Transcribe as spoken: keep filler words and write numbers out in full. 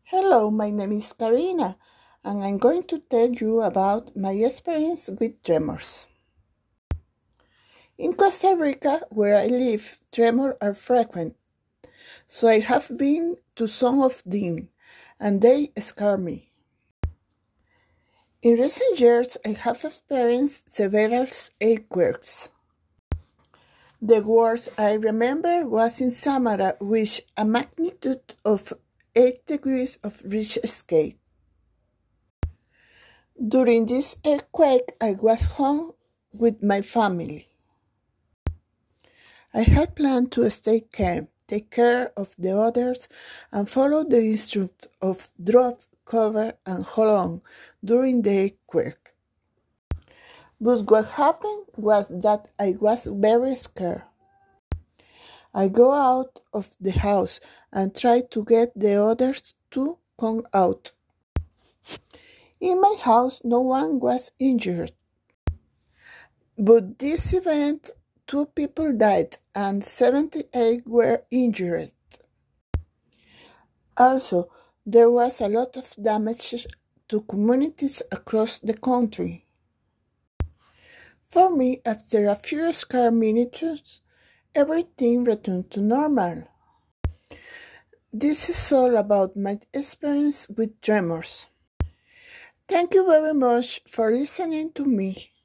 Hello, my name is Karina, and I'm going to tell you about my experience with tremors. In Costa Rica, where I live, tremors are frequent, so I have been to some of them, and they scare me. In recent years, I have experienced several earthquakes. The worst I remember was in Samara, with a magnitude of eight degrees of Richter scale. During this earthquake, I was home with my family. I had planned to stay calm, take care of the others, and follow the instructions of drop, cover, and hold on during the earthquake. But what happened was that I was very scared. I go out of the house and try to get the others to come out. In my house, no one was injured. But this event, two people died and seventy-eight were injured. Also, there was a lot of damage to communities across the country. For me, after a few scarce minutes, everything returned to normal. This is all about my experience with tremors. Thank you very much for listening to me.